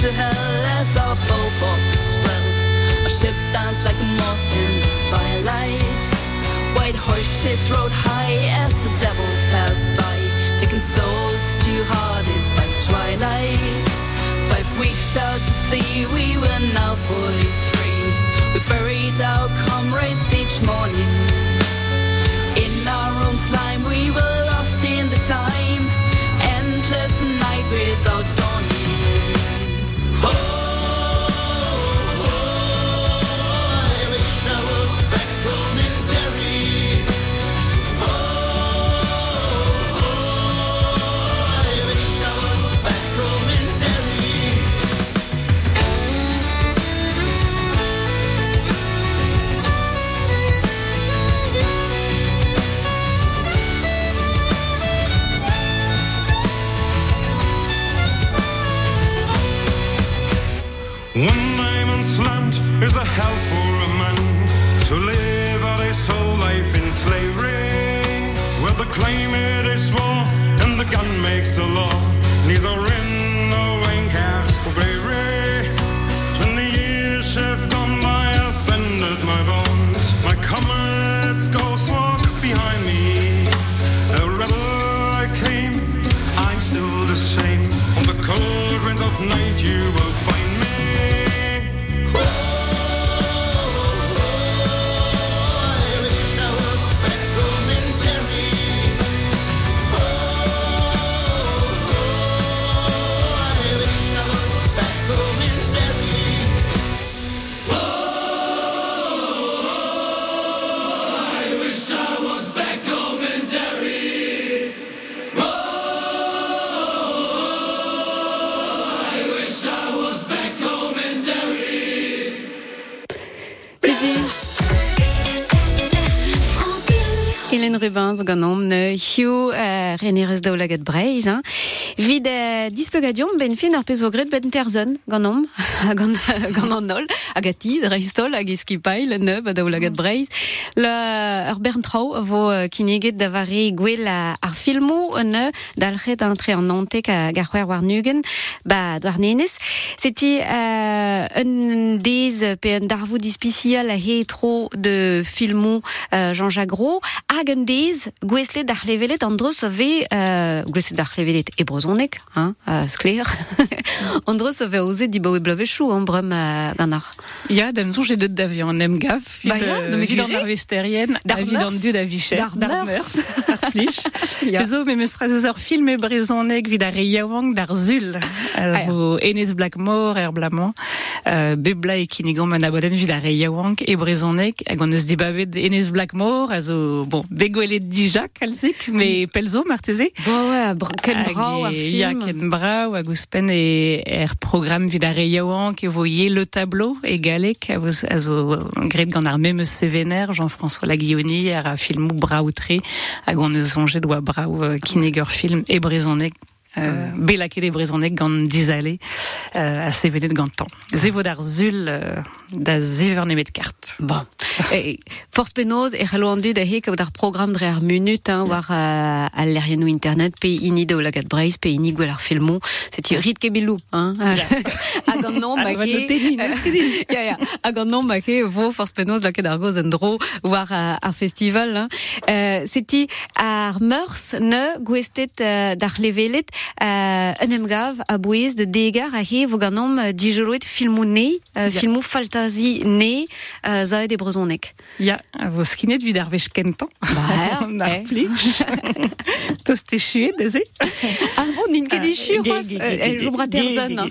to hell as our bow fought to swell. Our ship danced like a moth in the firelight. White horses rode high as the devil passed by, taking souls to Hades by twilight. 5 weeks out to sea, we were now 43. We buried our comrades each morning. In our own slime we were lost in the time. Endless night without dawning. Oh, I wish I was back home in Derry. Oh, I wish I was back home in Derry. One diamond's land is a hell for a man to live out his whole life in slavery, where the climate is war and the gun makes the law. Neither in nor wing cares for bravery. 20 years have gone by, offended my bones. My comrades' ghosts walk behind me. A rebel I came, I'm still the same. On the cold winds of night you will find me. Hélène Rubin, ganom ne Hugh Reneres Daoulagat Breiz, vid displogadium ben fin ar pez vogret ben terzon ganom gananol agati dreistol ag eskipail ne Daoulagat Breiz la Berntrau vo kineget davari gwell ar filmo ne dalchet entre en nantek a garwer warnugen ba dwarnenes c'était un des pe un darvou dispicial a hetro de filmo Jean-Jacques Gros Agendez, gweslet d'ar levelet andros ave gweslet d'ar levelet ebrozonek, skler. Andros ave oze di bawe blavechou, brem ganar. Ja, demzon j'ai d'autres d'avion en emgaf, vid an arvesterien, vid an dud a vichet, d'ar meurs, ar flich. Pezo, me meustraz ur film e brezonek vid ar reiaouank d'ar zul, vo Enes Blackmore, blamant, bebla e kinigon man aboden vid ar reiaouank e brezonek, hag an eus di babet Enes Blackmore, azo, bon, begoelet dija kalzik, mais pelzo marteze. Ouais, ken brau ar film. Ya ken brau hag ouspen e program vid ar reiaouank e voye le tableau e galek azo gret gant ar memeus sevener Jean-François Laguioni ar filmou braoutre hag an eus sonjet doa brau kineger film e brezonek belaket e brezonek gant dizale a sevenet gantan. Zevo d'ar zul da ziver nemet kart. Bon. Force penoz e c'hallo an dud a hek d'ar program dre ar munut war a lerienou internet pe ini Daoulagat Breiz pe ini gwell ar filmou seti rit kebilou hag an nom hag an nom vo force penoz laket ar goz en dro war ar festival seti ar meurs ne gwestet d'ar levelet un emgav a bouez de degar a he vo ganom dijoloet filmou ne filmou faltazi ne zaed e brezonek. Ja, vo skinet vid ar vech kentan. Ar flich. Tost e chuet, eze? Bon, nin ket e chuet, jobra terzon.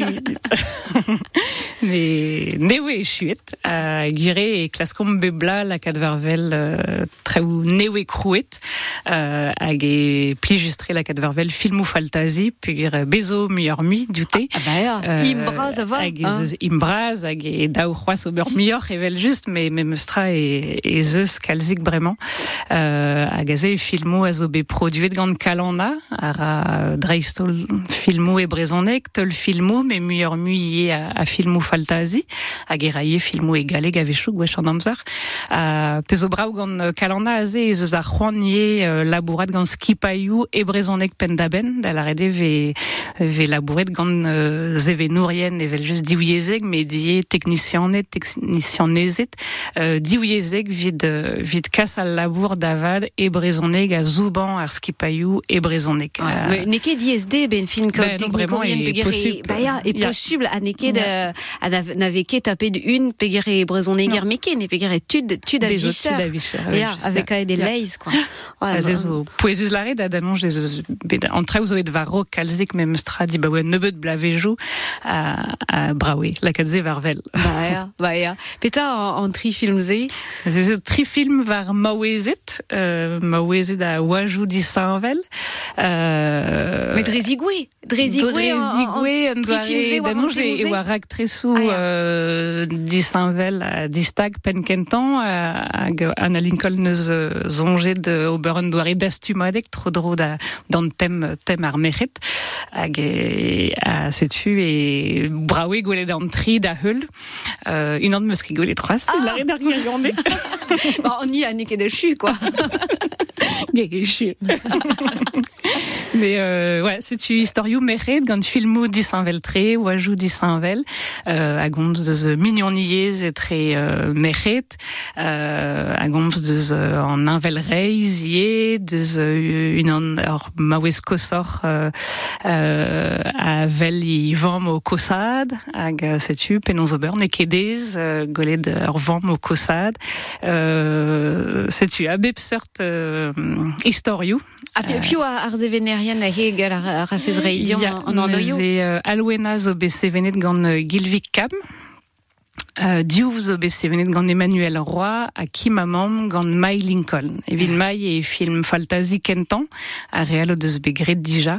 Mais newe e chuet. Gire e klaskom bebla la kadvarvel traou newe krouet. Hag e pli justre la kadvarvel filmou faltazi, puis bezo muior mi dute. Imbraz ava. Hag e imbraz, hag e daou c'hoaz ober muior evel just, mais meustra e zeus kalzik bremañ. Hag a ze filmou a zo be produet gant kalana, ar dreistol filmou e brezonek, tol filmou, mais muior mui a filmou faltazi. faltazi, hag eraie filmo egaleg avechou gwech an amzer. Pezo brau gant kalanda aze ez eus ar c'hoant labourat gant skipaiou e brezhonek pendaben, da la rede ve labouret gant zevenourien evel just diouiezeg, me die technicianet, technicianezet, diouiezeg vid kas al labour davad e brezhonek a zouban ar skipaiou e brezhonek. Neke DSD ben fin Ben, non, vraiment, est possible. Possible a neke naveke tapet une pegere brezhoneger meke ne pegere tud a vicher. Avec des leis quoi. Azezo poezus lare da mange en traus oet varo kalzik mem stra di bawe nebeut blavejou a brawe la kadze varvel. Baia. Peta en tri film ze. Ze tri film var mawezet a wajou di sanvel. Mais Drezigwe en doare da mange e war actresou di sanvel a distag penkentan hag Anna Lincoln neus zonjet de oberen doare dastumadek tro dro dan tem ar mechet hag a setu e brawe gwelet an tri da heul un an meus ki gwelet troas la red ar gwirionde. On y a neke de chu quoi. Gege chu. Mais ouais, setu historiou mechet gant filmou di sanvel tre wajou di sanvel a gomz deus mignoniez e tre mechet a gomz deus an invel reiz ie deus un an ur maouez kosor a vel i vamm o kosad hag setu penon zo beur ne kedez golet ur vamm o kosad setu a bep seurt historiou. A piou ar zevenerian a heg ar rafez reidion an andoio. Neuze alwena zo be sevenet gant Gilvik Kam. Dioù zo be sevenet gant Emmanuel Roy a Kimamam gant Mai Lincoln. Evit Mai e film faltazi kentan a real o deus be gret dija.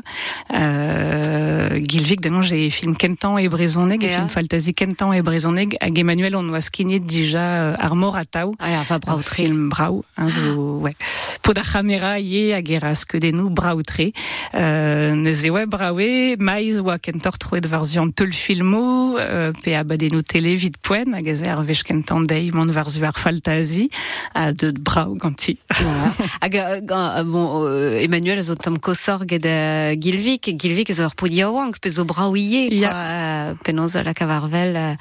Gilvik da mange e film kentan e brezhoneg e film faltazi kentan e brezhoneg hag Emmanuel on oa skinet dija ar mor ataou. Va braoutre. Film brau. Zo, ouais. Pod ar camera ie hag era skeudennou braoutre. Neuze oa brawe, maiz oa kentor troet varzian teul filmo pe abadennou tele vid poen hag ez ar vech kentan dei mont varzu ar faltazi a deud brau ganti. Hag bon Emmanuel zo tam kosor ged Gilvik ez ur podiaouank pe zo brau ie penoz la kavarvel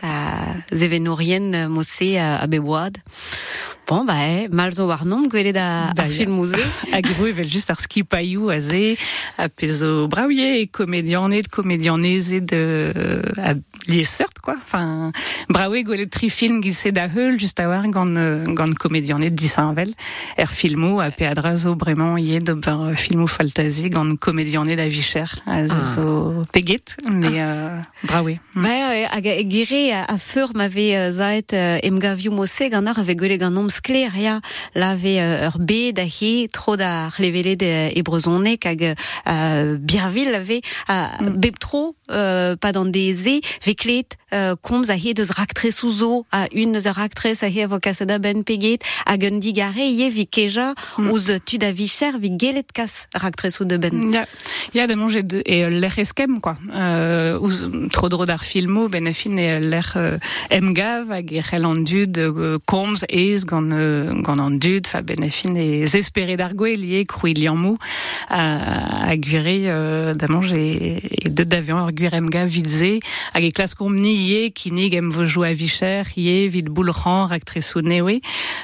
zevenourien mosse a beboad. Bon, mal zo war nom gwelet ar filmouze. Hag evel just ar skipaiou a ze, a pezo braouie e komedianezet a liesseurt, quoi. Enfin, braouie gwelet tri film gilse da heul, just a war gant komedianet disanvel. Filmou a pe adra zo bremañ ie d'ober filmou faltazi gant komedianet a vicher. A zo peget, mais braouie. Hag gere a feur m'ave zaet emgavioù mosse gant ar ave gwelet gant nom skler ya lave ur bet da he tro da c'hlevelet e brezhonek hag birvil lave bep tro pa d'an deze veklet komz a he deus raktresou zo a un deus raktres a he vo kasada ben peget hag un digare ie vi keja ouz tud a vicher vi gelet kas raktresou de ben. Ya da mange e l'er eskem quoi. Ouz tro dro d'ar filmo ben a fin e l'er emgav hag e c'hell an dud komz ez gant an dud fa ben a fin e zesperet ar gwell ie krouilian mou a gure da mange e deud d'avion ur gwir emgav vid ze hag e klas komni ie kinig em vo jou a vicher ie vid boulc'han raktresou newe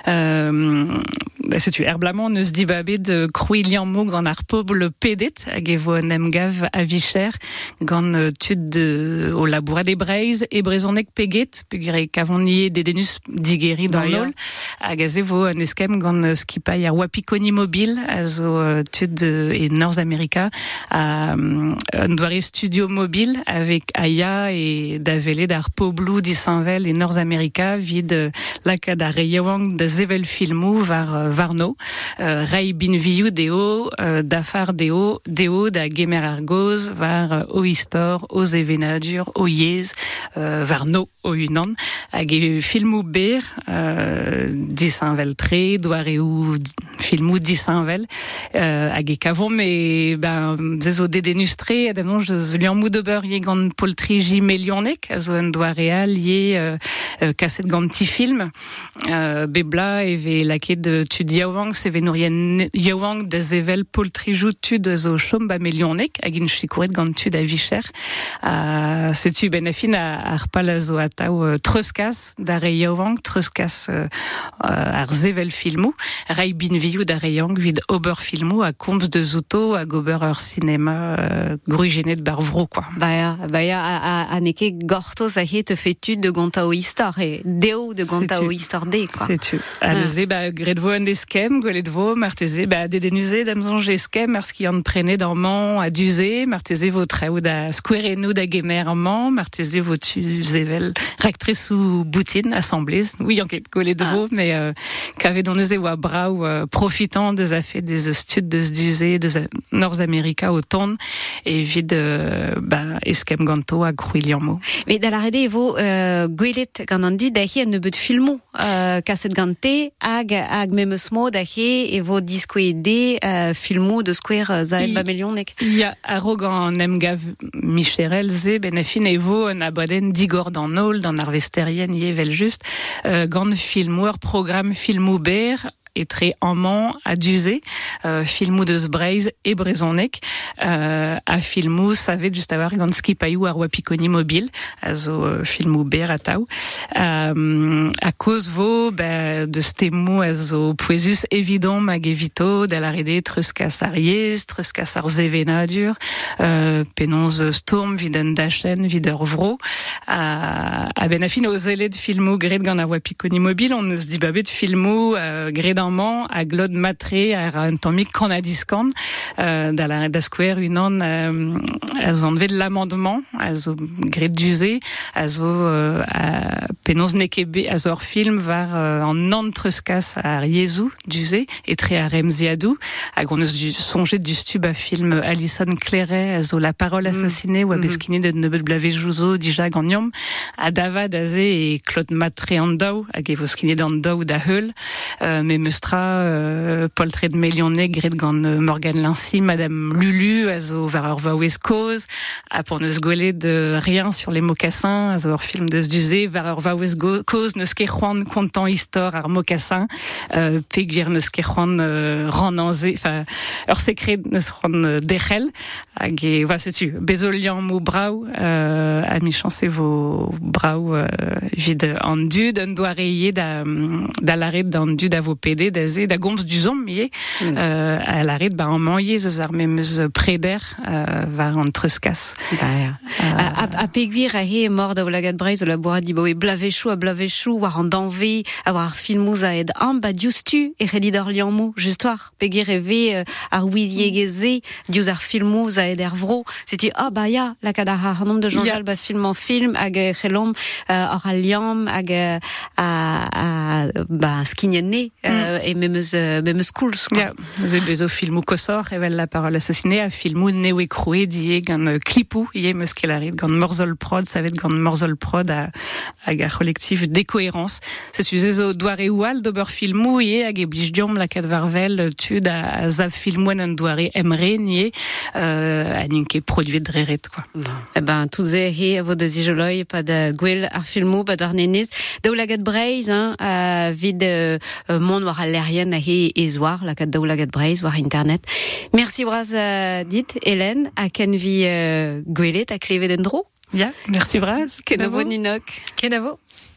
setu erblamant neus dibabet krouilian mou gant ar pobl pedet hag e vo an emgav a vicher gant tud o labourat e breiz e brezhonek peget pegure kavon ie dedenus digeri dan nol hag a ze vo an eskem gant skipai ar wapikoni mobil a zo tud e North America un doare studio mobil avec Aya et davele d'ar poblou disanvel e North America vid lakad ar reiewang da zevel filmou varno rei binviou deo dafar deo da gemer ar goz var o istor o zevenadur o yez varno o unan hag e filmou ber disanvel tre doare ou filmou disinvel hag e kavon mais zezo dédénustré adamnon je lian moudober yé gant poltriji melionek a zo en doa real yé kaset gant ti film bebla eve laket de tud yaouang seve nourien yaouang da zevel poltrijou tud zo chom ba melionek hag in chikouret gant tud a vicher setu benafin ar pal a zo atao treuskas da re yaouang treuskas ar zevel filmou rai binviou da reyang vid ober filmou a komz de zouto a gober ur cinéma gruigenet bar vro quoi. Baia a neke gortos a het fetud de gonta o istor e deo de gonta o istor de quoi. C'est tu. Aleze gredvo an eskem goledvo marteze dedenuze damzonge eskem ars ki an prene d'arman a duze marteze vo traoù da squerenou da gemerman marteze vo tu zevel rectrice ou boutine assemblée oui en ket goledvo mais kave don eus oa brau profitant deus a fait des stud deus duze deus Nord-America au ton et vid eskem ganto a Crouilliamo. Mais da la rede evo gwelet gant an du da hi an nebeut filmou kaset gante hag memeus mo da hi evo diskoede filmou de skwer zaet ba melionek. Ya aro gant emgav Micherel ze benafin evo an abaden digor dan nol dan arvesterien yevel just gant filmouer programme filmou ber et très amant à Duzé, filmou de Zbreiz et Brezonek, à filmou savet juste avoir ganski payou à Wapikoni mobile, à zo filmou ber atau, à cause vo de stemou à zo poesus évident magevito de la rede truskas ariez, truskas arzevenadur, penonz storm viden dachen vider vro, à benafin aux élèves filmou gred gant à Wapikoni mobile, on se dit babet filmou gred a glod matre ar an tammik kanadiskan da la red da square unan a zo anvet l'amendement a zo gret duze a zo penonz nekebe a zo ar film var an an treuskas ar yezou duze etre a remziadou hag on eus sonjet du stub a film Alison Claret a zo La parole assassinée ou a beskine de nebeut blavejouzo dija gant a davad a ze e Claude Matre an daou hag e vo skinet an daou da heul mais poltred melionek gret gant Morgan Lincy, Madame Lulu, a zo var ur vaouez koz, a pour neus gwelet de rien sur les mocassins, a zo ur film deus duze, var ur vaouez koz neus ket c'hoant kontant histor ar mocassin, peg vir neus ket c'hoant ran anze, ur sekret neus c'hoant derel, hag e, va setu, bezo liam mou brau, a mi chance vo brau vid an dud, an doare da laret d'an dud a vo pede, da gomz du zom miye a la red an manye zeus ar memeus preder var an treuskas. A peguir a he mord da Oulagat Breiz o la boa di boe blavechou war an danve a war filmouz a ed an dioustu e relid ar liamou justoir peguir e ve ar ouiziegeze diouz ar filmouz a ed er vro seti ya la kad ar nom de Jean-Jal film en film hag relom ar al liam hag skignene et memeus koulz. Ya, ze bezo filmou kosor evel La parole assassinée a filmou newe kroe die gant klipou ie meus kelarit gant Morzol Prod savet gant Morzol Prod a gar collectif décohérence. C'est zo doare oual d'ober filmou ie hag e blij diom la kad varvel tud a zav filmouen an doare emre nie a ninke produit dreret quoi. Tout ze he vo deus ijoloi pa da gwell ar filmou pa d'ar nenez da Oulagat Breiz vid mon war a lerien a he ezoar la kad da Oulagat Breiz war internet. Merci braz dit Hélène a ken vi gwelet a klevet en dro. Ya, merci braz. Kenavo Ninok. Kenavo.